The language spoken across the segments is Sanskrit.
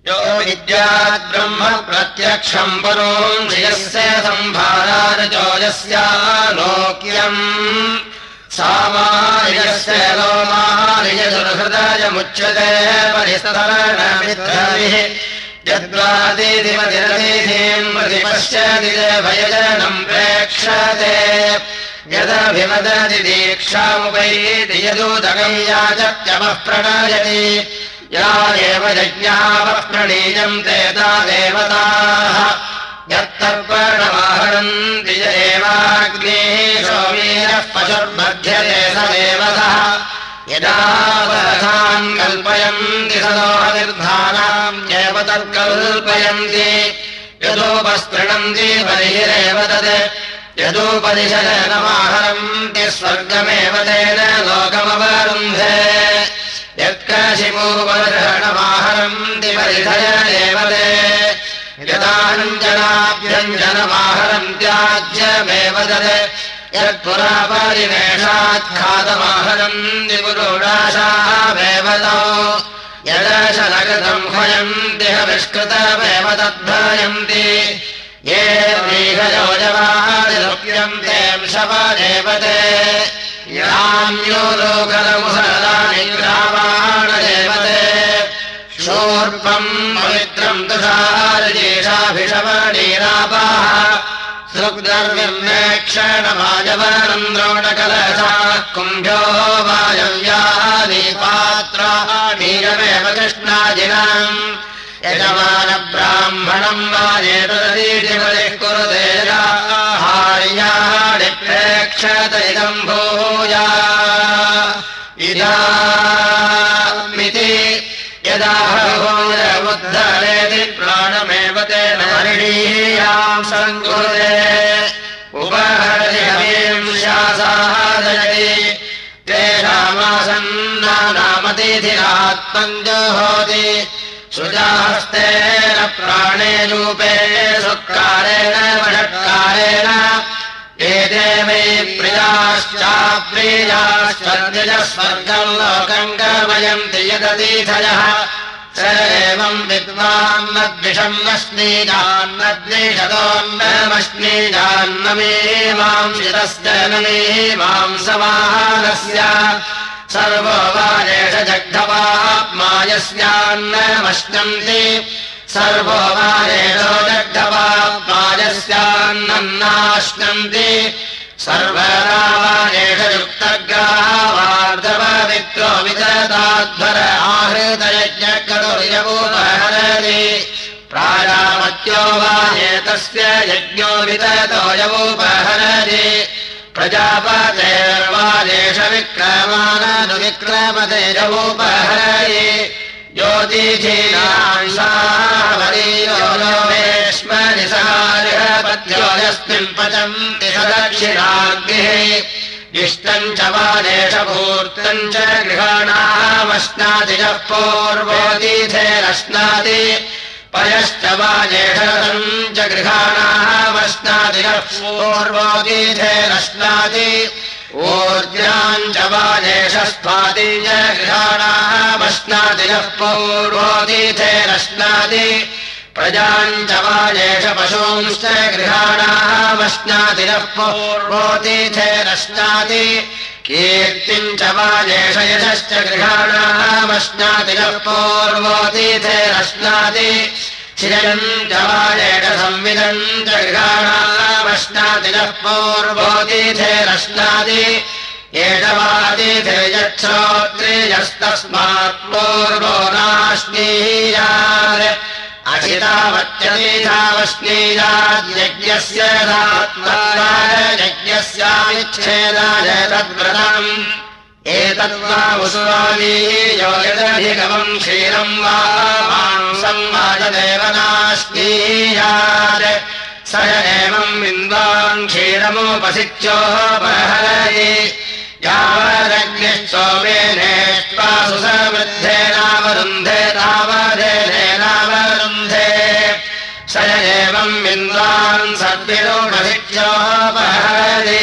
यो विद्यात् ब्रह्म प्रत्यक्षम् परोऽयस्य संभारार्जो यस्यालोक्यम् सामार्यस्य लोमार्यदुर्हृदयमुच्यते परिस्तरणमित्रभिः यद्वादिधिमतिरतिथिम् प्रतिपश्यति भयजनम् प्रेक्षते यदभिवदति दीक्षामुपैति यदुदकम् याचत्यवः प्रणयति या एव यज्ञावः प्रणीयन्ते ता देवताः यत्तर्पणमाहरन्ति य एवाग्निः सोमीरः पशुर्बध्यते स देवतः यदा पदार्थान् कल्पयन्ति सदोहनिर्धानाम् एव तत्कल्पयन्ति यदोपस्पृणन्ति बर्हिरेव तत् यदुपदिशनमाहरन्ति स्वर्गमेव तेन लोकमवरुन्धे यत्कशिपूपदर्शनमाहरन्ति परिधय एव ते यदाञ्जनाभ्यञ्जनमाहरन्त्याज्यमेव तत् यत्पुरा परिवेशात् खादमाहरन्ति पुरुषाशामेव तौ यदशनगतम् भयन्ति हविष्कृतमेव तद्भयन्ति ये व्रीहयोजवादिरुप्यन्ते शवदेव ते यान्यो लोकलमुसलानि ग्रावाणदेव ते शूर्पम् पवित्रम् तुषारजेषाभिषवणीरापाः सृग्दर्विर्नेक्षणवायवनम् द्रोणकलशाः कुम्भ्यो वायव्यानि पात्राणीरमेव कृष्णाजिनाम् यजमानब्राह्मणम् वाजेतदीतिपतिः कुरुते हार्याणि प्रेक्षत इदम् भूया इदामिति यदा भूयमुद्धरेति प्राणमेव तेन हरिणीयाम् सङ्कुरुते उपहरति हवींशासादयति तेषामासन्नानामतिथिरात्मम् जुहोति सुजाहस्तेन प्राणे रूपे सुत्कारेण वषट्कारेण एते वै प्रियाश्चाप्रियाश्चर्यजः स्वर्गम् लोकम् गमयन्ति यदतीथयः स एवम् विद्वान्नद्विषम् नश्नीजान्नद्विषतोन्नमश्नीजान्नमीमांसितस्य नमीमांसमाहारस्य सर्वो वाजेष जग्धवाप्मायस्यान्नमश्नन्ति सर्वो वाजेषो जग्धवाप्मायस्यान्नन्नाश्नन्ति सर्वदा वाजेष युक्तग्रावार्धपवित्रो विदताध्वर आहृतयज्ञकतुर्यवोपहरति प्राजापत्यो वाजेतस्य यज्ञो विदतो यवोपहरति प्रजापतेर्वाजेष विक्रमाननुविक्रमते यवोपहरति ज्योतिषीनांसावरीयोमेश्वरि सहार्हपत्यो यस्मिन् पचन्ति सदक्षिणाग्निः इष्टम् च वाजेष भूर्तम् च गृहाणामश्नाति यः पूर्वोऽतीथेरश्नाति पयश्च वाजेषम् च गृहाणामश्नाति यः पूर्वोऽतीथेरश्नाति ऊर्जाम् च वाजेषस्त्वादिम् च गृहाणामश्नाति यः पूर्वोऽतीथेरश्नाति प्रजाम् च वाजेष पशूंश्च गृहाणामश्नाति यः पूर्वोऽतीथेरश्नाति कीर्तिम् च वाजेष यशश्च गृहाणामश्नाति यः पूर्वोऽतीथेरश्नाति श्रियम् च वाजेष संविदम् च गृहाणामश्नाति यः पूर्वोऽतीथेरश्नाति एषवातिथिर्यच्छ्रोत्रियस्तस्मात् पूर्वो नाश्नीयात् अशितावत्यतीथावश्नीयाद्यज्ञस्य यज्ञस्याविच्छेदाय तद्व्रतम् एतद्वा उस्वालीयो यदधिगमम् क्षीरम् वा मांसम् वाजदेव नाश्नीयात् स एवम् विन्द्वान् क्षीरमुपसिच्योपहरति यावदग्निश्चोमेनेष्ट्वा सुसमृद्धेनावरुन्धे तावदेनेनावरुन्धे स एवम् विन्द्वान् सद्विरोढसिच्योपहरति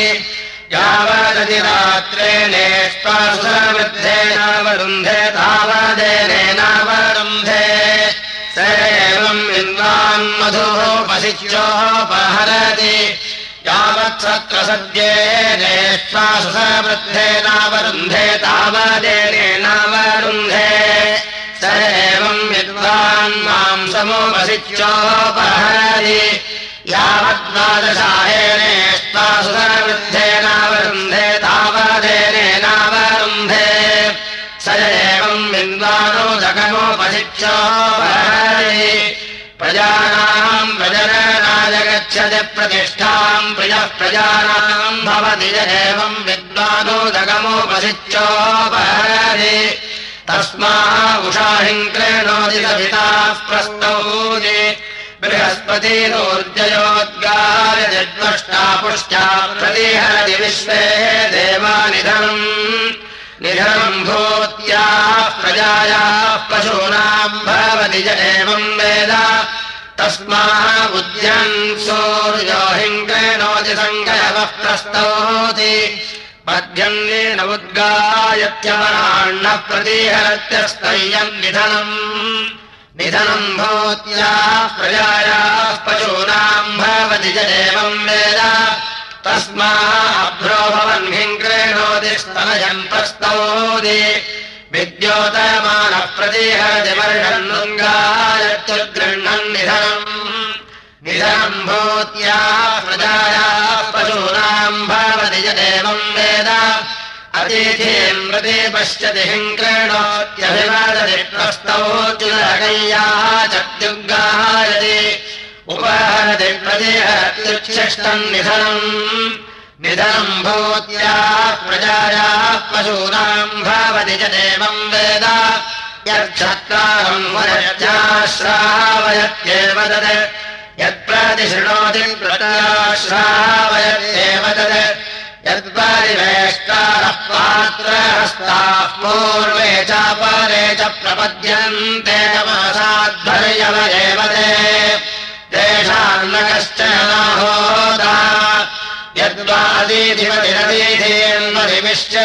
यावदतिरात्रेणेष्ट्वा सुसमृद्धेनावरुन्धे तावदेनेनावरुन्धे स स एवम् विद्वान् मधुपसिच्योपहरति यावत्सत्र सद्येनेष्वा सुसवृद्धेनावरुन्धे तावदेनेनावरुन्धे स एवम् विद्वान् मांसमुपसिच्योपहरति यावद्वादशाहेनेष्वा सुसवृद्धेनावरुन्धे तावदेनेनावरुन्धे स एवम् विद्वानोदकमुपसिच्योपहरति प्रजानाम् प्रजननाय गच्छति प्रतिष्ठाम् प्रियः प्रजानाम् भवति य एवम् विद्वानोदकमुपसिच्योपहरति तस्माहुषाहिम् कृणोति सविताः प्रस्तौति बृहस्पतिरोर्जयोद्गाय जद्वष्टा पुष्ट्या प्रतिहरति विश्वे देवानिधनम् निधनम् भूत्याः प्रजायाः पशूनाम् भवति य एवम् वेद तस्माहुद्यन् सूर्यो हिङ्कृणोति सङ्गयवः प्रस्तौति पद्यन्नेन उद्गायत्यवराण्णः प्रतिहरत्यस्तय्यम् निधनम् भूत्याः प्रजायाः पशूनाम् भवति य एवम् वेद तस्माभ्रो भवन् हिङ्कृणोति स्तनयम् प्रस्तौति विद्योतमानः प्रतिहरति वर्षन्नुङ्गायत्युद्गृह्णन् निधनम् भूत्याः प्रजायाः पशूनाम् भवति य एवम् वेद अतिथिम् प्रति पश्यति हिङ्कृणोत्यभिवादति प्रस्तौत्युदरगय्याः चत्युग्गायति उपहरति प्रतिहरत्युच्छिष्टम् निधनम् भूत्याः प्रजायाः पशूनाम् भवति च एवम् वेद यच्छत्रारम् वयत्याश्रावयत्येव तत् यत्प्रतिशृणोति प्रत्याश्रावयत्येव तत् यत्परिवेष्टारः पात्रहस्ताः पूर्वे चापरे च प्रपद्यन्ते तमसाध्वर्यव एव तेषाम् न कश्चन होता यद्वादीधिपतिरदीधीन्वरिविश्च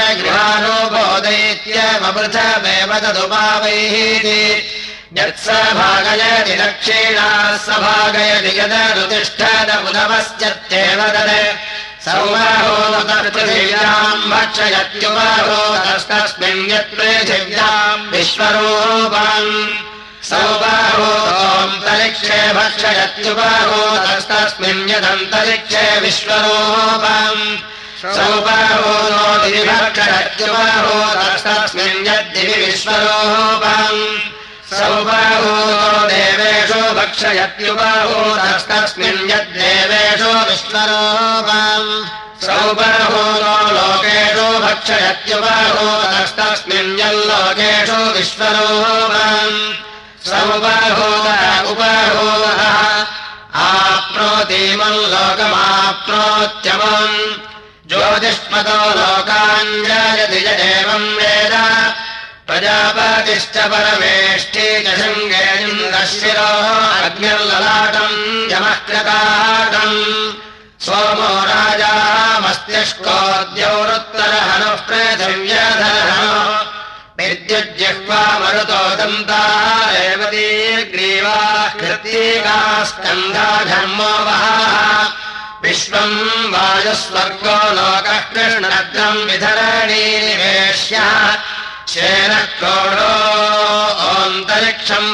गृहानुबोधयित्यवपृथमेव तदुपावैहीति यत्स भागयति दक्षिणाः स भागयति यदनुतिष्ठदमुदवश्चत्येव तत् सौमहोदपृथिव्याम् भक्षयत्युपहोदस्तस्मिन् यत्पृथिव्याम् विश्वरूपम् सौबाहोदोऽन्तरिक्षे भक्षयत्युपहोदस्तस्मिन् यदन्तरिक्षे विश्वरूपम् सौबाहोदो दिवि भक्षयत्युपहोदस्तस्मिन् यद्दिवि विश्वरूपम् सौबाहोदो देवेषु भक्षयत्युपहोदस्तस्मिन् यद्देवेषु विश्वरूपम् सौबाहोदो लोकेषु भक्षयत्युपहोदस्तस्मिन् यल्लोकेषु विश्वरूपम् सौबाहोद उपहोदः आप्नोतीमम् लोकमाप्नोत्यमम् ज्योतिष्मतो लोकान् जयति य एवम् वेद प्रजापतिश्च परमेष्ठी च शृङ्गेन्द्रः शिरोः अग्निर्ललाटम् यमः कृताटम् सोमो राजा मस्तिष्कोऽद्यौरुत्तरहनुः पृथिव्यधरहनुः विद्युज्जिह्वा मरुतो दन्ता रेवतीर्ग्रीवाः कृत्तिकाः स्कन्धा घर्मो वहाः विश्वम् वायुस्वर्गो लोकः कृष्णरद्रम् विधरणी निवेश्यः शेनः कोडो ओन्तरिक्षम्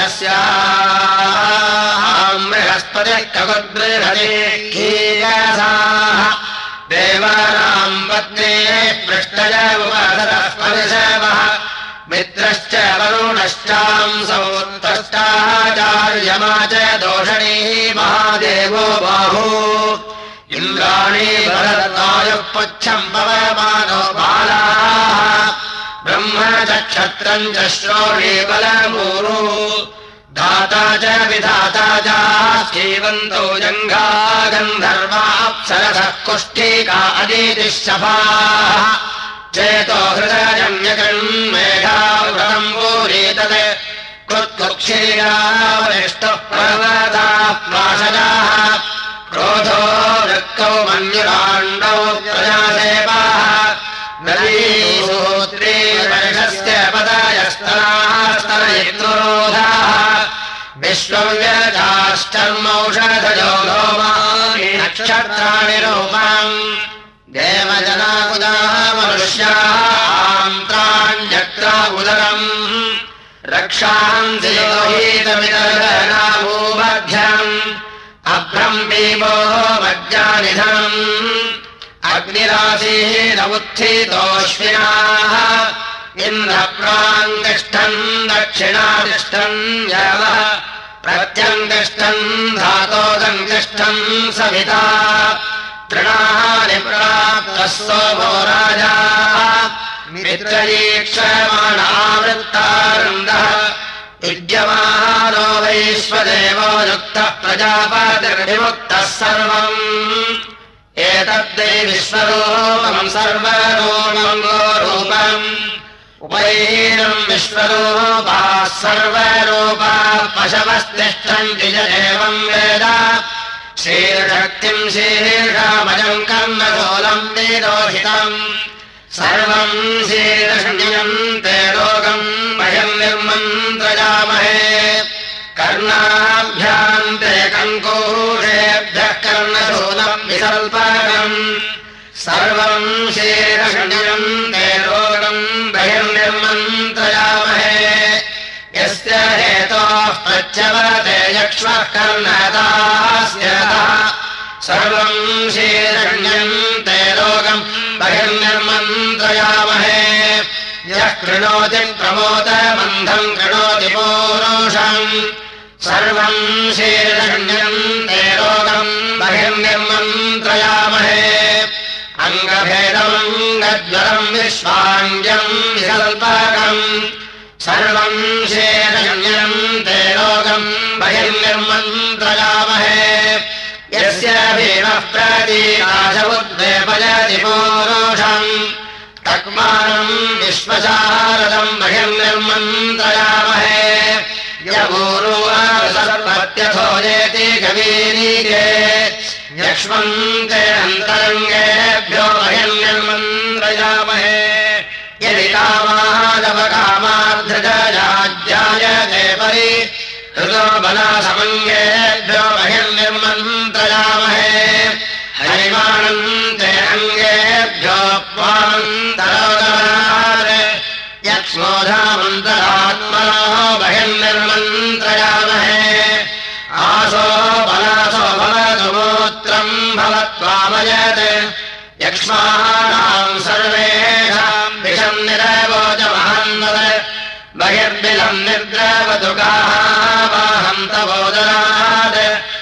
वाजस्याम् बृहस्पतिः ककुद्बृहति कीयसाः देवानाम् पत्नीः पृष्ठय उपधरः परिशवः मित्रश्च वरुणश्चांसौ त्वष्टाचार्यमा च दोषणीः महादेवो बाहू इन्द्राणी भरतायुः पुच्छम् पवमानो बालाः ब्रह्म च क्षत्रम् च श्रोणी बलमूरु धाता च विधाता च जीवन्तो जङ्घा गन्धर्वाप्सरसः कुष्ठिका अदितिः शफाः चेतो हृदयजन्यकन्मेधाव्रतम् पूरीतत् कृत्कुक्षीरावरिष्टः पर्वताः प्राशजाः क्रोधो वृक्कौ मन्युराण्डौ प्रजासेवाः नदीसूत्री वर्षस्य पदयस्तनाः स्तनयित्रोधाः विश्वव्यजाश्चर्मौषधयो लोमानि नक्षत्राणि रूपम् देवजनाकुदाः मनुष्यान्त्राण्यक्रा उदरम् रक्षांसि लोहितमिदनाभूमध्यम् अभ्रम् भीमो मज्जानिधम् अग्निराशीरमुत्थितोऽश्विनाः इन्द्रप्राङ्तिष्ठन् दक्षिणातिष्ठन् यवः प्रत्यङ्तिष्ठन् धातोदङ्तिष्ठन् सविता तृणानि प्राप्तः सोमो राजा मित्रयीक्षमाणावृत्तारुन्दः युज्यमानो वैश्वदेवो युक्तः प्रजापतिर्विमुक्तः सर्वम् एतद्दै विश्वरूपम् सर्वरूपम् गोरूपम् उपैनम् विश्वरूपाः सर्वरूपाः पशवस्तिष्ठन्ति च एवम् वेद श्रीर्शक्तिम् शीर्षामजम् कर्णशूलम् विरोहितम् सर्वम् शीर्षण्यम् ते लोकम् वयम् निर्मन्त्रयामहे कर्णाभ्याम् ते कङ्कूषेभ्यः कर्णशूलम् विसल्पकम् सर्वम् शीर्षण्यम् ते लोकम् वयम् निर्मन्त्रयामहे यस्य हेतोः प्रच्यवते यक्ष्मः कर्णदास्यतः सर्वम् शीर्षण्यम् ते लोकम् बहिर्निर्मन्त्रयामहे यः कृणोति प्रमोदमन्धम् कृणोति पूरुषम् सर्वम् शीर्षण्यम् ते लोकम् बहिर्निर्मन्त्रयामहे अङ्गभेदमङ्गज्वरम् विश्वाङ्ग्यम् विकल्पकम् सर्वम् शीर्षण्यम् ते लोकम् बहिर्निर्मन्त्रयामहे यस्य भीमः प्रतीकाशमुद्वेपयति पूरुषम् तक्मानम् विश्वशारदम् बहिर्निर्मन्त्रयामहे यपूर्वासर्वत्यथो जेति कवीनीके यक्ष्मन्ते अन्तरङ्गेभ्यो बहिर्निर्मन्त्रयामहे यदि कामादवकामार्धजाज्यायते परि ऋतो बलासमङ्गेभ्यो बहिर्निर्मन्त्रयामहे हरिमाणन्ते अङ्गेभ्यो त्वान्तरोदरात् यक्ष्मोधामन्तरात्मनो बहिर्निर्मन्त्रयामहे आसो बलासो भवतु मूत्रम् भवत्वामयत् यक्ष्माणाम् सर्वेषाम् विषम् निरवोचमहन्वत् बहिर्बिलम् निर्द्रवतु गाहावाहम् तवोदरात्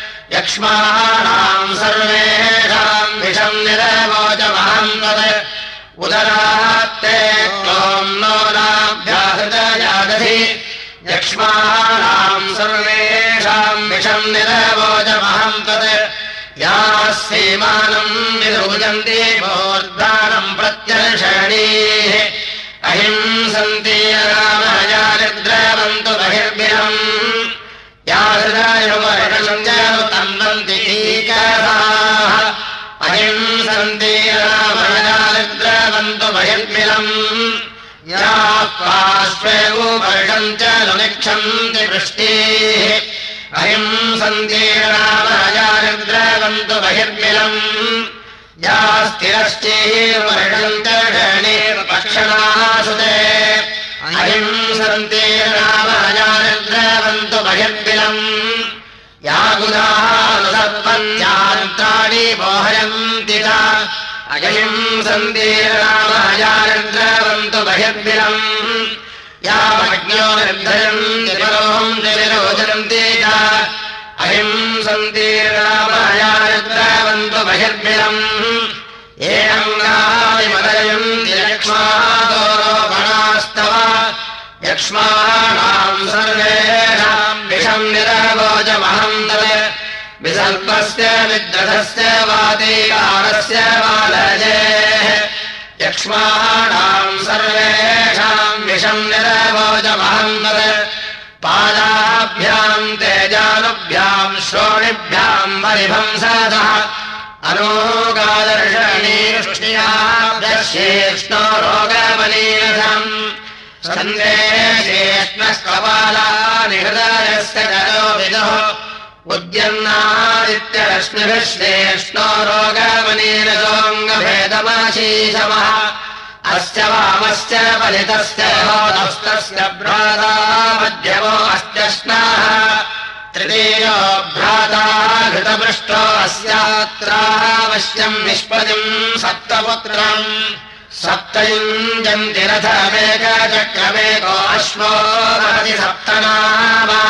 यक्ष्माणाम् सर्वेषाम् विषम् निरवोचमहन्वत् उदरात्ते त्वम् नो नाभ्याहृतयादधि यक्ष्माणाम् सर्वेषाम् विषम् निरवोचमहन्वत् याः सीमानम् विरूजन्ति मूर्धानम् प्रत्यर्षणीः अहिंसन्ति रामया निर्द्रवन्तु बहिर्बिलम् या हृदयवर्षम् तन्वन्ति कीकराः अहिंसन्ति रामया निर्द्रवन्तु बहिर्बिलम् या पार्श्वे वर्षम् च निक्षन्ति वृष्टिः अहिंसन्ति रामया निर्द्रवन्तु बहिर्बिलम् या स्थिरश्चैर्वर्षम् च षणीर्पक्षणासुते अहिंसन्ति रामया निर्द्रवन्तु बहिर्बिलम् या गुदानुसर्पन्त्यान्त्राणि मोहयन्ति च अहिंसन्ति रामया निर्द्रवन्तु बहिर्बिलम् या अग्न्यो निर्धयन्ति परोहन्ति विरोचन्ति च अहिंसन्ति रामया निर्द्रवन्तु बहिर्बिलम् ये अङ्गानि मदयन्ति यक्ष्मादोरोपणास्तव यक्ष्माणाम् सर्वेषाम् विषम् निरवोचमहन्तत् विसर्पस्य विद्रथस्य वातीकारस्य वालजेः यक्ष्माणाम् सर्वेषाम् विषम् निरवोचमहन्तत् पादाभ्याम् तेजानुभ्याम् श्रोणिभ्याम् परिभंसतः अनोगादर्शनीष्णियाभ्यश्चेष्णो रोगमनीरथम् सन्देशेष्णः कपालानि हृदयस्य जनो विदुः उद्यन्नादित्यरश्मिभिः श्लेष्णो रोगमनीरसोऽङ्गभेदमाशीषमः अस्य वामस्य फलितस्य होतस्तस्य भ्राता मध्यमो अस्त्यश्नाः तृतीयो भ्राता घृतपृष्ठो अस्यात्रावश्यम् निष्पदिम् सप्तपुत्रम् सप्तयुञ्जन्ति रथमेकचक्रमेको अश्वो भवति सप्तनामा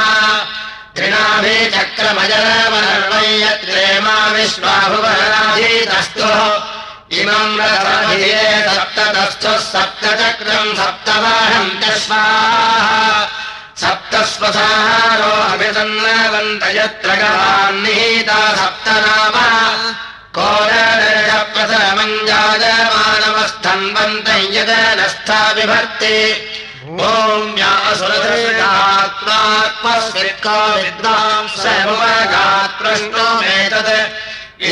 त्रिणाभिचक्रमजरमनर्वयत्रेमा विश्वाभुवनाधीतस्तु इमम् रथमधिये सप्ततस्थुः सप्तचक्रम् सप्तवाहन्त्यश्वाः सप्तस्वसारो अभिसन्नवन्त यत्र गवान्निहिता सप्तनामा कोरप्रथमञ्जायमानवस्थन्वन्त यदनस्था बिभर्ति भूम्यासुरधृगात्मात्मस्वित्को विद्वांसमुपगात्प्रश्नोमेतत् इह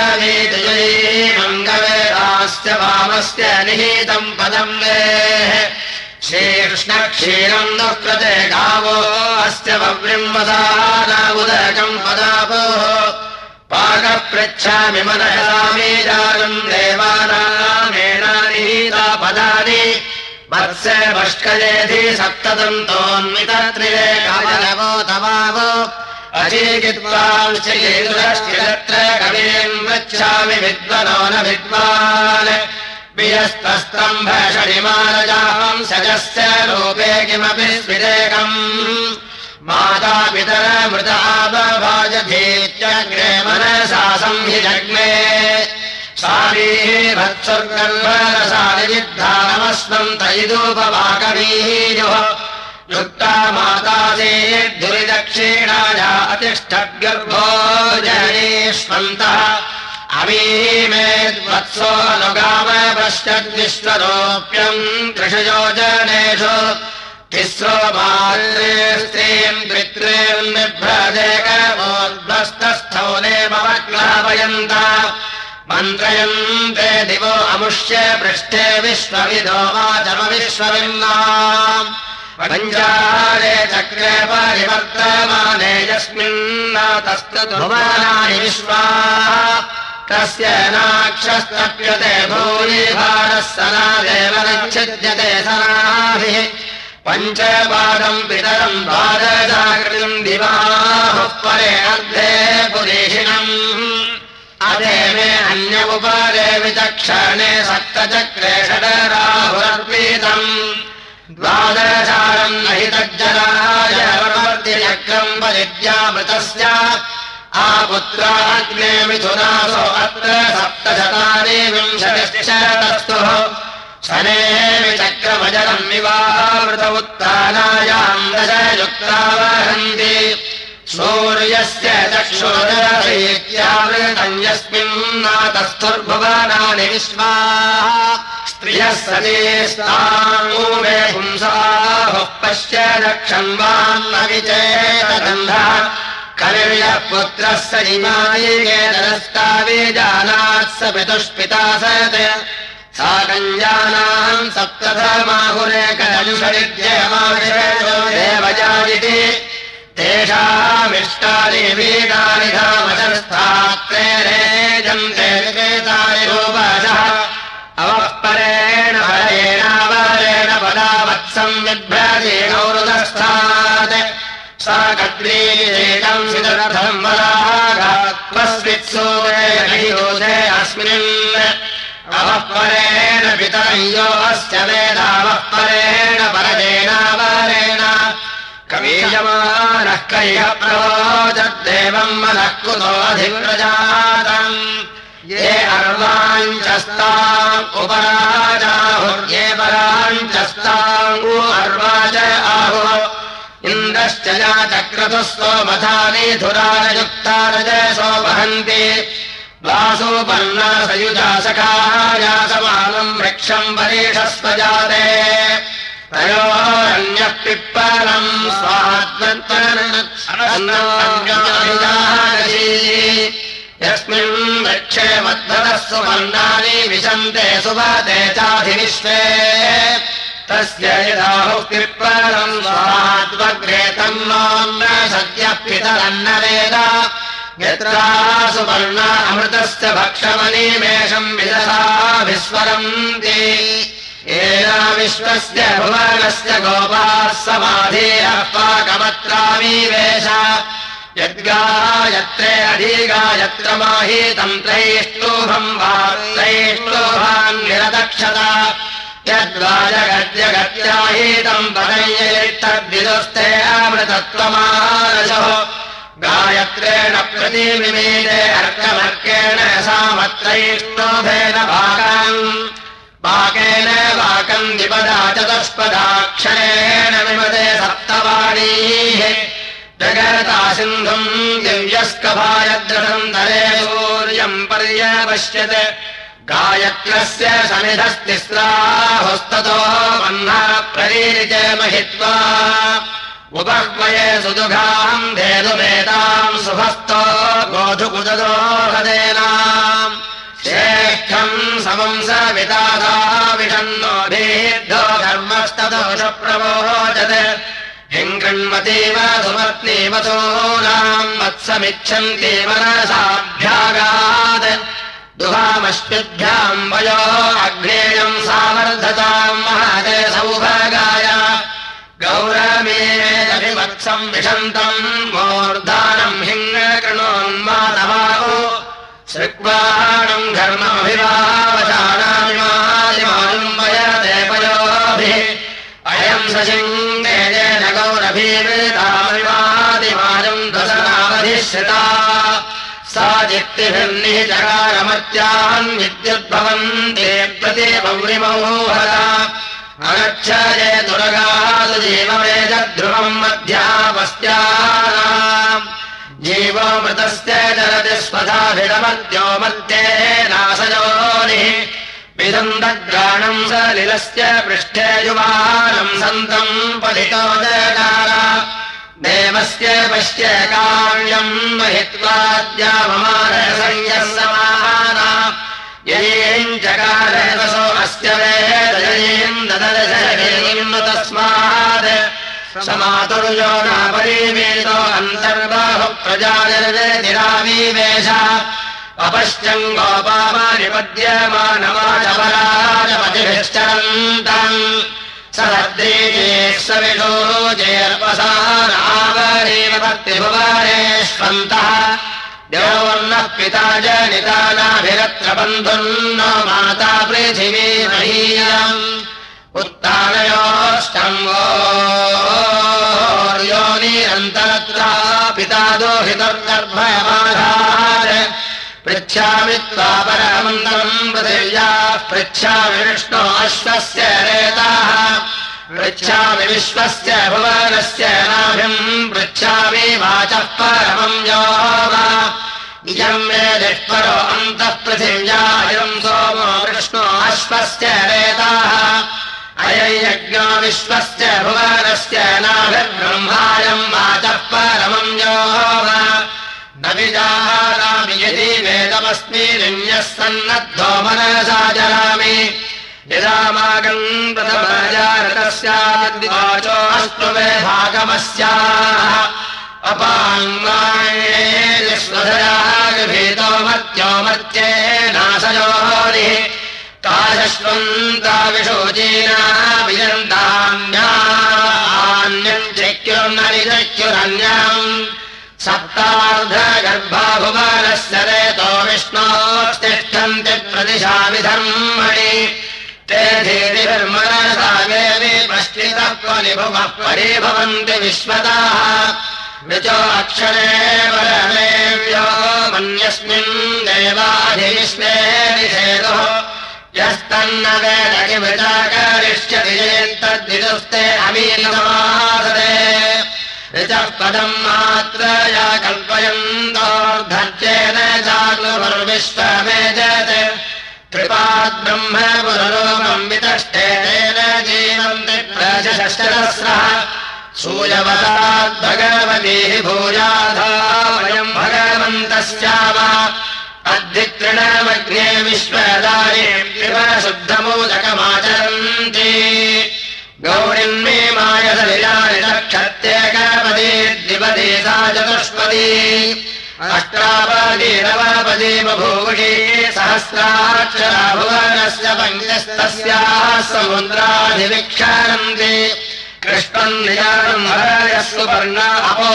ब्रवीतयैमङ्गवेदास्य वामस्य निहितम् पदम् वेः शीर्ष्णक्षीरम् दुःकृते गावो अस्य वव्रिम्वसानामुदकम् पदापोः पाकपृच्छामि मनसामीजानम् देवानामेनानिहिता पदानि वत्से भष्कयेधि सप्तदन्तोन्मितत्रिरेकमलवो तवावो अचीकित्वांश्चेतुरश्चिरत्र कवीम् वृच्छामि विद्वनो न विद्वान् वियस्तस्तम्भषणिमानजाम् सजस्य रूपे किमपि स्विरेकम् मातापितरमृतावभाजधीत्यग्रे मनसा संहिजग्ने सारीभत्सर्गर्भरसानिजिद्धानमस्मन्तयिदूपवाकवीयुः युक्ता मातासीर्धुरिदक्षिणाया अतिष्ठद्गर्भो जनेष्वन्तः अमीमेद्वत्सो अनुगामपश्यद्विश्वरोप्यम् त्रिषयोजनेषु तिस्रो मात्रे स्त्रीम् द्वित्रेन्निभ्रदेकमोद्भस्तस्थौलेमवक्लापयन्त मन्त्रयन्ते दिवो अमुष्य पृष्ठे विश्वविदो वाचमविश्वविन्नाम् पञ्चारे चक्रे परिवर्तमाने यस्मिन्नातस्ततु भुवनानि विश्वाः तस्य नाक्षस्तप्यते भूरिभारः सनादेव नच्छिद्यते सनाभिः पञ्चपादम् पितरम् पादजागृतिम् दिवाहुः परे अर्धे पुरीषिणम् अधे मे अन्यमुपरे विचक्षणे सप्तचक्रे षडराहुरर्पितम् द्वादशारम् नहि तज्जलाय वर्तिचक्रम् परिद्यामृतस्य आपुत्राग्ने मिथुनासो अत्र सप्तशतानि विंशतिश्चतस्तुः शने विचक्रमजलम् विवावृत उत्तानायाम् दशयुक्ता वहन्ति सूर्यस्य चक्षुरसीत्यावृतम् यस्मिन्नातस्थुर्भुवनानि विश्वाः स्त्रियः सतीस्तामूमे पुंसाहुः पश्य दक्षन्वान्नविचेतगन्धः कविर्यः पुत्रः स इमायिकेतरस्ताविजानात् स पितुष्पिता सत् सा कञ्जानाम् सप्तधर्माहुरेकदंशनित्ययमाविषयो देवजायिति तेषामिष्टानि वीडानि धामशस्तात्रेरेजन्ते विकेतानि रूपशः अवःपरेण फलेनावरेण पदावत्सम् बिभ्रतीनौरुदस्थात् सा कद्रीकम् सिदर्थम् वरागात्मस्वित्सूदे अस्मिन् अवःपरेण पितरयो अस्य वेदावःपरेण परजेनावरेण कवीयमानः कैः प्रवोचद्देवम् मनः कुतो अधिव्रजातम् ये अर्वाञ्चस्ताम् उपराजाहुर्ये पराञ्चस्ताम् अर्वाच आहुः इन्द्रश्च या चक्रतुः सोमथानि धुरारयुक्तारजसो वहन्ति वासोपर्णा सयुजा सखाया समानम् वृक्षम् वरीषस्वजाते तयोरन्यः पिप्पलम् स्वात्मन्त्वनन्नोऽन्योऽभिजानसी यस्मिन् वृक्षे मध्वरः सुवर्णानि विशन्ते सुवते चाधिविश्वे तस्य यदाहुक्तिर्परम् स्वाहाद्वग्रे तन्नोन्न सद्यः पितरन्न वेद यत्रा सुवर्णा अमृतस्य भक्षमनीमेषम् विदधा विस्वरन्ति येन विश्वस्य भुवनस्य गोपाः समाधीरः पाकमत्रामीवेश यद्गायत्रे अधिगायत्र माहीतम् त्रैष्टोभम् वा त्रैष्टोभान् निरदक्षता यद्वाजगद्यगत्याहीतम् पदयैतद्विदुस्ते अमृतत्वमानशो गायत्रेण प्रतिमिमीते अर्कमर्केण सामत्रैष्टोभेन पाकेन वाकम् द्विपदा चतुष्पदाक्षरेण विमते सप्तवाणीः जगता सिन्धुम् दिव्यस्कभायद्रथम् तरे सूर्यम् पर्यपश्यत् गायत्रस्य समिधस्तिस्राहुस्ततो वह्ना प्ररीरिते महित्वा उपह्वये सुदुघाम् धेनुमेताम् सुभस्तो गोधुकुदो हदेनाम् श्रेष्ठम् समम् स विदाधा विषन्नोभिद्धो धर्मस्तदोष प्रवोचत् हिङ्गृण्मतीव सुमर्तीव सोनाम् वत्समिच्छन्ति मनसाभ्यागात् दुहामश्विभ्याम् वयो अग्नेयम् सावर्धताम् महते सौभागाय गौरमेदभिवत्सम् विशन्तम् मूर्धानम् हिङ्गृणोन्मानवाहो श्रुक्वाणम् घर्ममभिवावशानामिमादिमानुम् वयते पयोभिः अयम् सशिङ्गेन गौरभीमृतामिमादिमानुम् दशनावधिश्रिता सा जित्तिभिर्निचकारमत्यान् विद्युद्भवन्ते प्रतिपौरिमोहता अगच्छये दुर्गासु जीवमेजध्रुवम् मध्यापस्यानाम् जीवोमृतस्य चरति स्वधाभिडमद्यो मध्ये नासयोनिः विदन्दग्राणम् सलिलस्य पृष्ठे युवानम् सन्तम् पलितो जकार देवस्य पश्य काव्यम् महित्वाद्यावमानसंयः समाना ययेम् चकारसो अस्य वेदयेम् ददर्शयेम् तस्मात् समातुर्यो नापरिवेदो अन्तर्बाहु प्रजानिर्वेदिराविवेश अपश्चम् गोपामानिपद्यमानवाचपराजपतिभिश्चरन्तम् सद्रीजेष्विषोजेर्वसानावरेव भक्तिभुवनेष्वन्तः देवर्णः पिता जनितानाभिरत्र बन्धुर्नो माता पृथिवी महीयम् उत्तानयोष्टम्बोर्योनिरन्तरत्रा पिता दोहितर्गर्भयमाधात् पृच्छामि त्वा परमन्तरम् पृथिव्याः पृच्छामि विष्णो अश्वस्य रेताः पृच्छामि विश्वस्य भुवनस्य नाभिम् पृच्छामि वाचः परमम् यो वा इयम् मे दिक्परो अन्तः पृथिव्या इदम् सोमो विष्णो अश्वस्य रेताः अयज्ञो विश्वस्य भुवनस्य नाभिर्ब्रह्मायम् वाचः परमम् यो वा न विजानामि यदि वेदमस्मिन्यः सन्नद्धो मनसा जरामि यदामागम् प्रथमजारतस्याद्वाचो अस्तु मे भागमस्याः अपाङ्गायेष्वधरागभीतो मत्यो मत्ये नाशयोनिः काशश्वन्ताविशोचीना विजन्तान्यान्यम् चैक्युर्नरिचैक्युरन्यम् सप्तार्धगर्भाभुवनस्य रेतो विष्णोस्तिष्ठन्ति प्रतिशामि धर्मणि ते धीतिभिर्मनसा मे विपश्चितः परिभुवः परिभवन्ति विश्वताः विचो अक्षरे परमेव्यो मन्यस्मिन् देवाधिविश्वे निषेदुः यस्तन्न वेद किमृचाकरिष्यति चेत्तद्विदुस्ते अमीनमासते ऋचः पदम् मात्रया कल्पयन्तोर्धर्चेन चाग्नुर्विश्वमेजत् कृपाद्ब्रह्म पुररूपम् वितष्टेन जीवन्ति प्रजशस्रः सूयवताद्भगवतीः भूयाधा वयम् भगवन्तस्याव अद्धितृणमग्ने विश्वदारे शुद्धमोदकमाचरन्ति गौरिन्मे मायसलिलानि नक्षत्येकपदी द्विपदी सा चतुष्पदी अष्टापदी नवपदी बभूवुषी सहस्राक्षरा भुवनस्य पञ्चस्तस्याः समुद्राधिविक्षरन्ति कृष्णम् निजानम् हरयस्सु पर्णा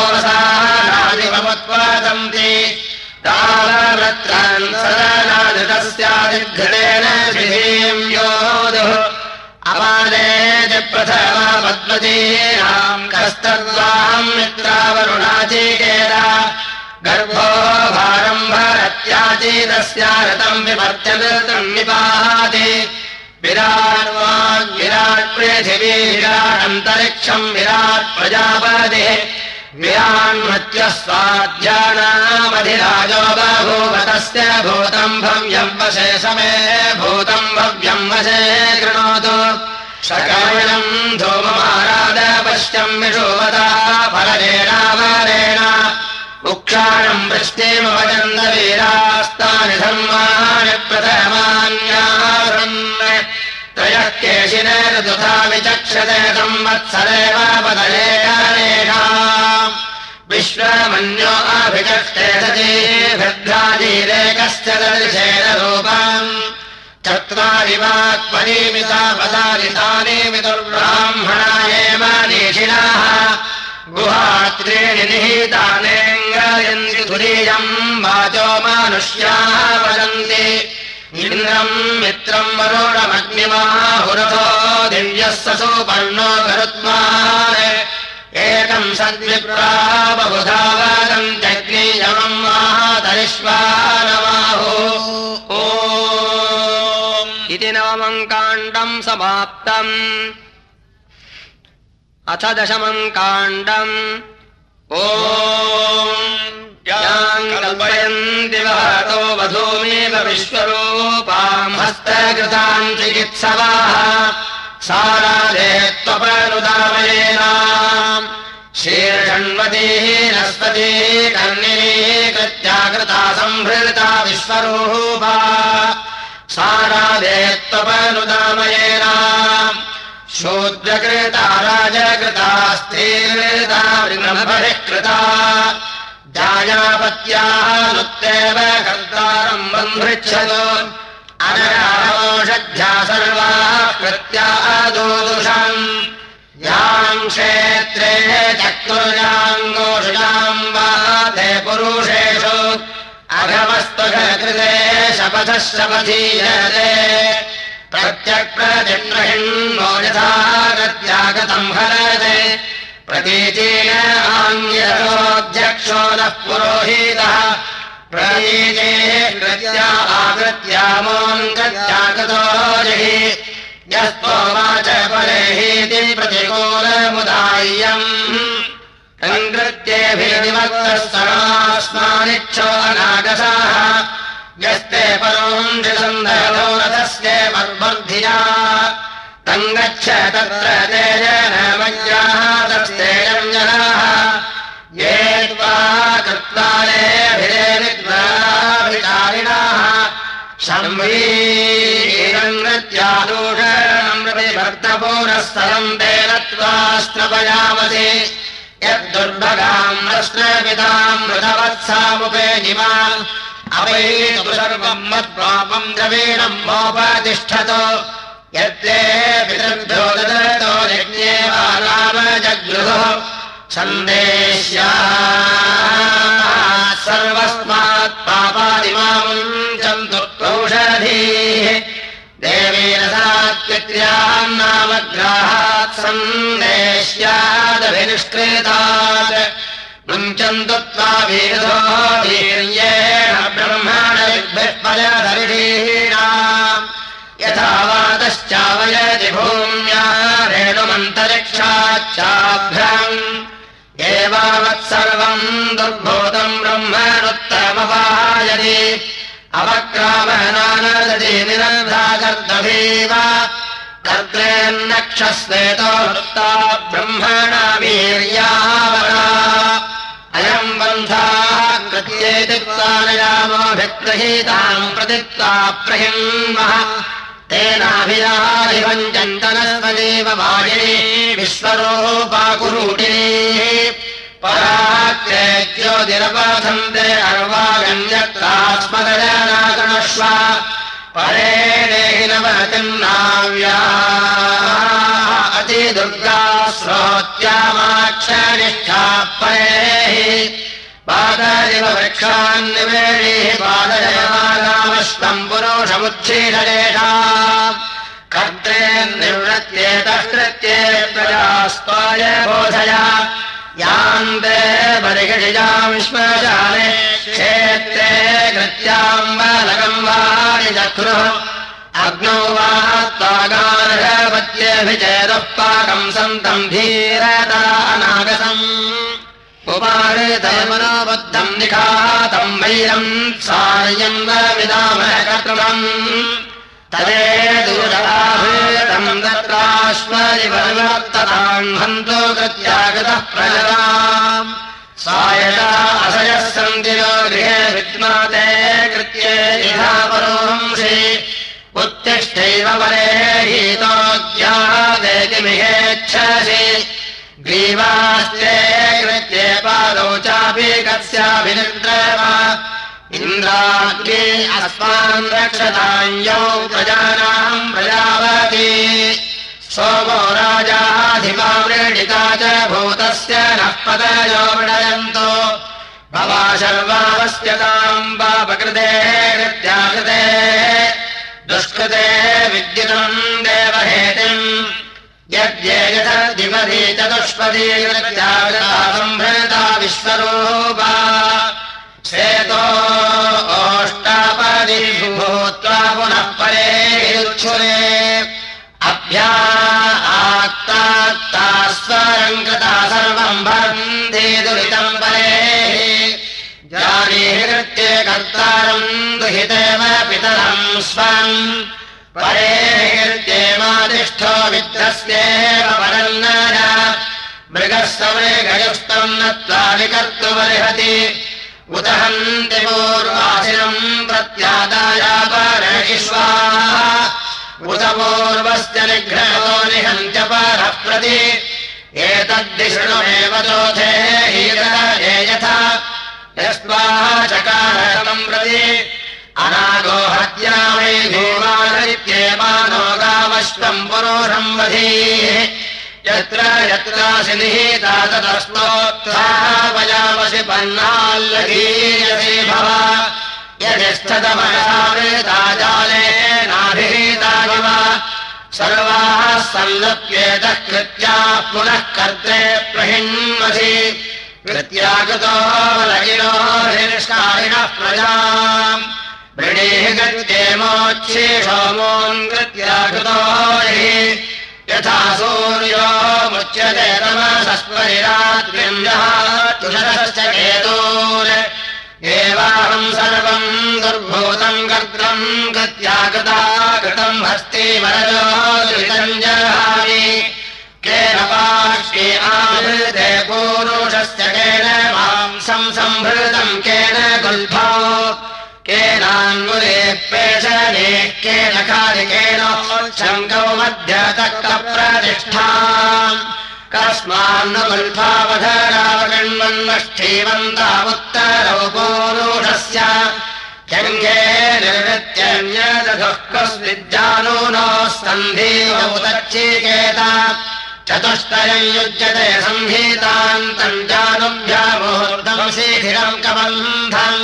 अपोवसानादिवमुत्पादन्ति तालवृत्रान् सदनादितस्यादिघृतेन श्रीम् योधुः अपादेति प्रथमा पद्मतीनाम् कस्तद्वाहम् मित्रावरुणाचीकेता गर्भो भारम् भरत्याचीतस्या रतम् विभर्त्यनृतम् निपाहाति विराट् विराट् पृथिवी विराटन्तरिक्षम् विराट् प्रजापतिः विरान्मत्यः स्वाध्यानामधिराजो बभूव तस्य भूतम् भव्यम् वशे समे भूतम् भव्यम् वशे कृणोतु शकमिणम् धूममाराद पश्यम् विषुवता फलरेणावरेण उक्षाणम् वृष्टिमवजन्त वीरास्तानि धर्माणि प्रथमान्यासन् त्रयः केशिनेर्दुधा विचक्षते संवत्सरेव पदलेकानेषा विश्वमन्यो अभिचष्टे सजीभिर्भ्राजीरेकस्य दर्शेन रूपम् चत्वारि वाक्परिमिता पदारितानि विदुर्ब्राह्मणायेव निषिणाः गुहात्रीणि निहितानेङ्गयन्ति तुरीयम् वाचो मानुष्याः वदन्ति इन्द्रम् मित्रम् वरुणमग्निमाहुरथो दिव्यः ससुपर्णो गरुत्मान् एकम् सद्विप्रा बहुधा वदन्त्यग्नियमम् मातरिष्वानमाहु ॐ इति नवमम् काण्डम् समाप्तम् अथ दशमम् काण्डम् ॐ याम् कल्पयन्ति वहतो वधूमेव विश्वरूपाम् हस्तकृताम् चिकित्सवाः साराधे त्वपनुदामयेनाम् शीर्षण्वतीः नस्पतीः कर्णिनी कृत्या कृता संभृता विश्वरूपा साराधे त्वपनुदामयेनाम् शूद्रकृता राजकृता स्त्रीकृता वृणभरिकृता जायापत्याः नुत्तेव कर्तारम् बन्धृच्छतु अनराषध्या सर्वाः कृत्याः दोदुषम् याम् क्षेत्रे चक्तुर्याङ्गोषुजाम् वा ते पुरुषेषु अघवस्त्वघकृते शपथः शपथीयते प्रत्यक्प्रतिग्रहिण्णो यथा गत्यागतम् हरते प्रतीचेन आङ्ग्यरोऽध्यक्षो नः पुरोहितः प्रतीचे कृत्या आकृत्यामोऽङ्गत्यागतो जहि यस्त्ववाच परेहीति प्रतिकूलमुदाय्यम् तङ्कृत्येभिर्विवक्तः समास्मानिच्छो अनागसाः यस्ते परोञ्जिसन्धरो रथस्य मर्मर्धिया तङ्गच्छ तत्र तेजनमज्ञाः तस्तेजम् जनाः ये त्वा कृत्वालेभिरेविद्वाभिचारिणाः संवीरङ्गत्यादूषणम् प्रतिभर्तपूरःस्थलम् तेन त्वा स्नपयामसि यद्दुर्भगाम् रश्नपिताम् मृतवत्सामुपेनिमा अवैतु सर्वम् मत्पापम् द्रवीणम् मोपतिष्ठतो यत्ते पितृभ्यो ददतो यज्ञे वा नाम जगृहो सन्देश्यात् सर्वस्मात् पापादिमामुञ्चन्तु औषधीः देवेन सात्वित्र्यान्नामग्राहात् सन्देश्यादभिनिष्कृतात् मुञ्चन्तु त्वाभिर्धो वीर्येण ब्रह्मणविद्भिः पदधरिषीणाम् यथा वातश्चावयति भूम्या रेणुमन्तरिक्षाच्चाभ्रम् एवावत्सर्वम् दुर्भूतम् ब्रह्मणुत्तमपायति अवक्रामनानदति निरर्धाकर्दभीव कर्द्रेन्नक्षस्वेतो वृत्ता ब्रह्मणा वीर्यावरा अयम् बन्धाः कृत्येति त्वानयामोऽभिगृहीताम् प्रतित्वा प्रहिन्मः तेनाभिराधिवञ्चन्तनस्वदेव वाजिनी विश्वरूपाकुरूटिनी पराक्तेज्योतिरपथन्ते अर्वागण्यत्रास्मदनागणश्व परे देहि नवतिन्नाव्या अतिदुर्गा श्रोत्यामाक्षनिष्ठा परेहि पादरिव वृक्षान्निवेणीः पादयमानामश्वम् पुरुषमुच्छीषलेषा कर्त्रे निवृत्त्येतः कृत्ये प्रजास्त्वाय बोधय यान्ते परिषिजाम् श्मशाने क्षेत्रे कृत्याम् बालकम् वाणि चक्रुः अग्नौ वा त्वागार्हपत्यभिचेदः पाकम् सन्तम् धीरता अनागसम् उपाहृतमनोबद्धम् निखातम् वैरम् सार्यम् विदामः कर्तृमम् तदेदुराहृतम् तत्राश्वरिवर्तताम् हन्तो कृत्यागतः प्रजलाम् सायता असयः सन्तिरो गृहे विद्माते कृत्ये यथा परोहंसि उत्तिष्ठैव वरे हीतोद्यादेकिमिहेच्छसि ग्रीवास्ते कृत्ये पादौ चापि कस्याभिनिद्रव इन्द्राग्नि अस्मान् रक्षताञ्यौ प्रजानाम् प्रजावति सोमो राजाधिपावृणिता च भूतस्य नः पतयो वृणयन्तो भवा शर्वावस्यताम् पापकृते कृत्याकृते दुष्कृते विद्युतम् देवहेतिम् यद्ये यथदिवधि चतुष्पदी कृत्याकृता सम्भृता विश्वरूपा श्वेतो ओष्टापदी भूत्वा पुनः परे युच्छुरे अभ्या आक्तास्वरम् कृता सर्वम् भरन्ति दुरितम् परे जानीहि कृत्ये कर्तारम् दुहितेव पितरम् स्वम् परे कृत्येवादिष्ठो विद्रस्येव परन्नय मृगः समृगयुस्तम् नत्वा विकर्तुमर्हति उत हन्ति पूर्वासिनम् प्रत्यादायापरयिष्वा उत पूर्वस्य निघ्नो निहन्त्य परः प्रति एतद्दिशृणुमेव चोथे हीरये यथा यस्त्वाः चकारतम् प्रति अनागो हत्या वै भीमानरित्येमानो गामश्वम् पुरोषम् वधीः यत्र यत्रासि निहिता ततस्तोत्थापयामसि पन्नाल्लघीयसि भव यदिष्ठतमयावृता जालेनाभिहितानिव सर्वाः सल्लप्येतः कृत्याः पुनः कर्त्रे प्रहिन्वसि कृत्याकृतो लगिनो हिर्ष्कारिणः प्रजाम् वृणीः कृत्येमोच्छीषोमोन् कृत्याकृतो हि यथा सूर्यो मुच्यते तमसस्परिरात्रिम् तुषश्च केतून् एवाहम् सर्वम् दुर्भूतम् कर्त्रम् कृत्याकृता कृतम् हस्तिवरजो दुरितम् जहामि केन पाक्ष्ये आवृते पूरुषस्य केन मांसम् सम्भृतम् केन गुल्फो केनाङ्गुले पेषणे केन कालिकेन शङ्कौ मध्यतक्तप्रतिष्ठाम् कस्मान्नु गुल्फावधरावगण्वन्नष्ठीवन्तावुत्तरौ पूरुषस्य जङ्घे निर्वृत्यन्यदधुः कस्मिज्जानूनो सन्धीवमुदच्चीकेत चतुष्टयम् युज्यते संहितान्तम् जानुभ्यामुहूर्तम् शीघ्रम् कबन्धम्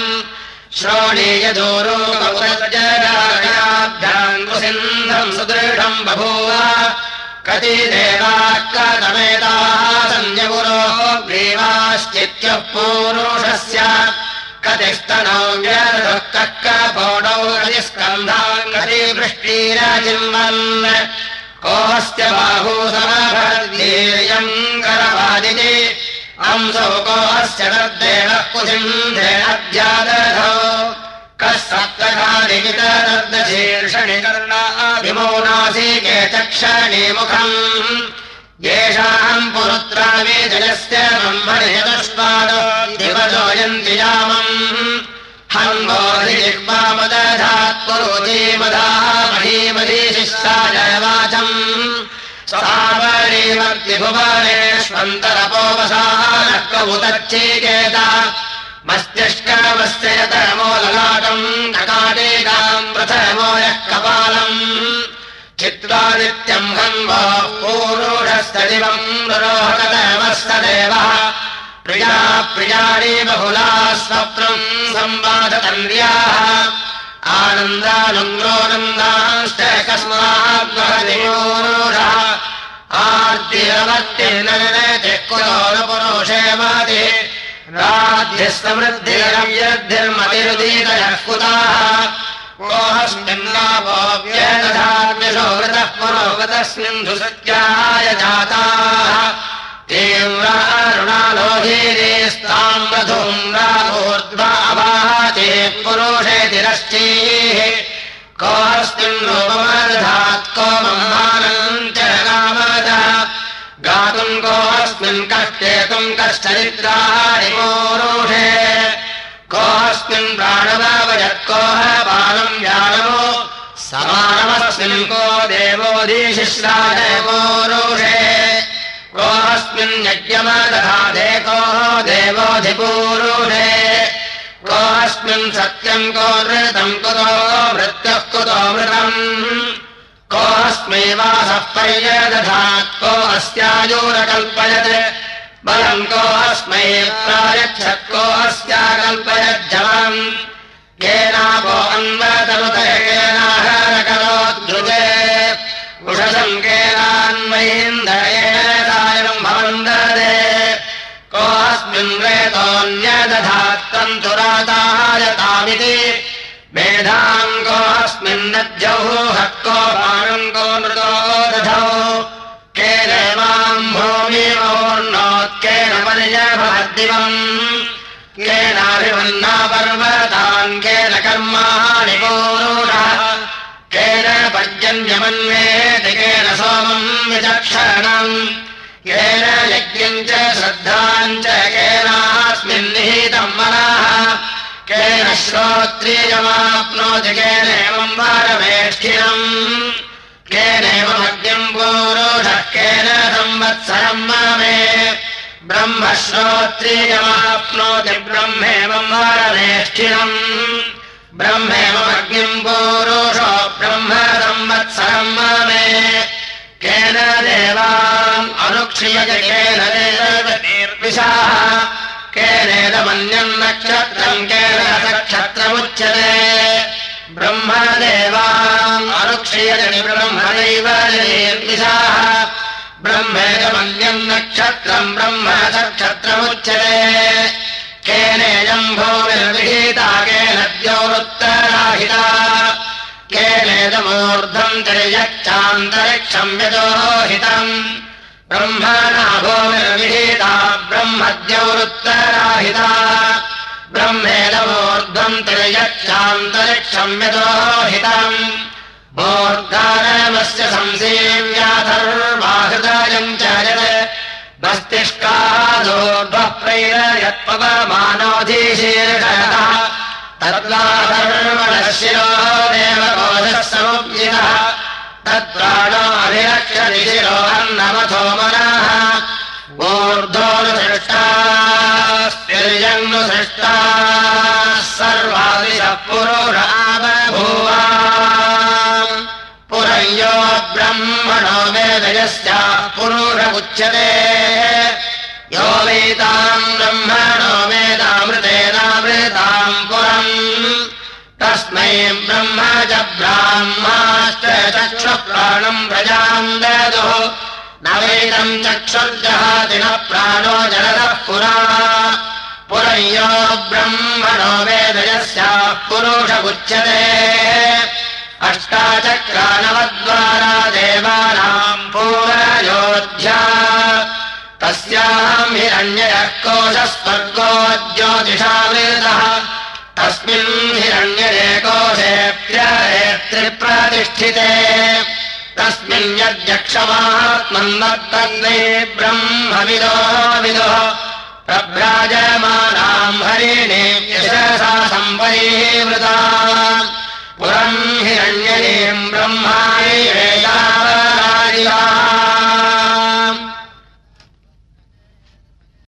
श्रोणीयदूरोगौरजराभ्याम् कुसिन्धम् सुदृढम् बभूव कति देवाः कतमेताः सन्यगुरोः ग्रीवाश्चित्यः पूरुषस्य कतिस्तनौ व्यर्धुः कक्कपोडौ कतिस्कन्धाम् कतिवृष्टिरजिन्वन् कोऽस्य बाहू समभर्दीर्यम् करवादिति अंसौ कोऽस्य तद्देवः कुसिन्धेनद्यादधौ कः सप्तघादिवितरद्दशीर्षणि कर्णाभिमौनासीके चक्षणे मुखम् येषाम् पुरुत्रावि जलस्य ब्रह्मणि चतुष्पादो दिवसो यन्ति यामम् हन्वोऽधिजिह्वामदधात् पुरोचीमधाः महीमधीशि विश्राय वाचम् सावरीवर्ति भुवनेष्वन्तरपोवसानः कौतच्चीकेत मस्तिष्कमस्य यतमोललाटम् ककाटीकाम् प्रथमो यः कपालम् चित्रादित्यम् हन्वो पूरुषस्तदिवम् रुरोहकतमस्तदेवः प्रिया प्रियाणि बहुला स्वप्नम् संवादतन्व्याः आनन्दानुग्रोनन्दाश्च कस्माद्वहतिपूरुषः आर्तिरवत्येनते कुलोनुपुरुषे मति राज्यस्तमृद्धिरव्यद्धिर्मतिरुदीतयः कुताः कोऽस्मिन्नापोऽव्यदधाद्विषो वृतः पुरोगतस्मिन्धु सत्याय जाताः तीव्रारुणालोहीरेस्ताम्रधूम्राभूर्ध्वाभाते पुरुषेतिरश्चीः कोऽस्मिन् रूपमदधात् को मम्मानम् च नामदः गातुम् कोऽस्मिन् कष्टेतुम् कश्चरित्राणि पूरुषे कोऽस्मिन् प्राणवावयत् कोह बालम् व्यानमो समानमस्मिन् को देवोऽधिशिश्राय पूरुषे कोऽस्मिन् यज्ञमदधाते को देवोऽधिपूरुषे कोऽस्मिन् सत्यम् को नृतम् कुतो मृत्युः कुतो मृतम् कोऽस्मै वासः पर्यदधात् को अस्यायुरकल्पयत् बलम् कोऽस्मै प्रायच्छत् को अस्याकल्पयज्जलम् केनापो अन्वतनुते केनाहरकरोद्युजे उषसम् केनान्महीन्द्रयेण सायम् भवन्ददे कोऽस्मिन् रेतोऽन्यदधात्तन्तुरातायतामिति मेधाम् कोऽस्मिन्नज्जौः को बाणम् को नृतो दधौ केन माम् भूमिमोर्णोत्केन पर्यभवद्दिवम् केनाभिमन्ना पर्वतान् केन कर्माणि पूरुषः केन पर्जन्यमन्वेति केन सोमम् विचक्षणम् केन यज्ञम् च श्रद्धाम् च केनास्मिन् निहितम् मनः केन श्रोत्रियमाप्नोति केनेवम् वारमेष्ठिनम् केनेवमग्निम् पूरुषः केन संवत्सरम् ममे ब्रह्म श्रोत्रियमाप्नोति ब्रह्मेवम् वारमेष्ठिनम् ब्रह्मेवमग्निम् पूरुषो ब्रह्म संवत्सरम् ममे केन देवाम् अनुक्षीयते केन देवैर्विशाः केनेदमन्यम् नक्षत्रम् केन नक्षत्रमुच्यते ब्रह्मदेवाम् अनुक्षीयते ब्रह्मदैव निर्विशाः ब्रह्मेदमन्यम् नक्षत्रम् ब्रह्म नक्षत्रमुच्यते केनेयम् भूमिर्विहिता केन द्यौरुत्तराहिता केनेदमूर्ध्वम् तिर्यच्चान्तरिक्षम् यजोहितम् ब्रह्मणा भूमिर्विहिता ब्रह्मद्यौरुत्तराहिता ब्रह्मेदमूर्ध्वम् तिर्यच्चान्तरिक्षम् यजोहितम् मूर्धानमस्य संसेव्याथर्वाहृदयम् च यत् मस्तिष्कादोर्ध्वः प्रैरयत्पवमानोऽधीशीर्षयतः तद्वाधर्मणः शिरो देवकोशः समुज्जितः तत्प्राणोऽभिरक्षति शिरो अन्नमथो मनः ऊर्ध्वोऽनुसृष्टास्तिर्यङ्नुसृष्टाः सर्वादिशः पुरुषाबभूवा पुरयो ब्रह्मणो वेदयस्याः पुरुषमुच्यते यो वेदाम् ब्रह्मणो वेदामृतेनामृताम् पुरम् तस्मै ब्रह्म च ब्राह्माश्च चक्षुप्राणम् प्रजाम् ददुः न वेदम् चक्षुर्जहाति न प्राणो जलदः पुरा पुरयो ब्रह्मणो वेदयस्याः पुरुषमुच्यते अष्टाचक्रानवद्वारा देवानाम् पूरयोध्या तस्याम् हिरण्ययः कोशः स्वर्गो ज्योतिषावृतः तस्मिन् हिरण्यये कोशेऽप्यरेत्रिप्रतिष्ठिते तस्मिन् यद्यक्षमात्मन्वर्तन्ते ब्रह्मविदो विदुः प्रभ्राजमानाम् हरिणीम् यशसा सम्परीवृता पुरम् हिरण्ययीम् ब्रह्मा